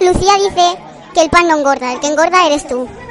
Lucía dice que el pan no engorda, el que engorda eres tú.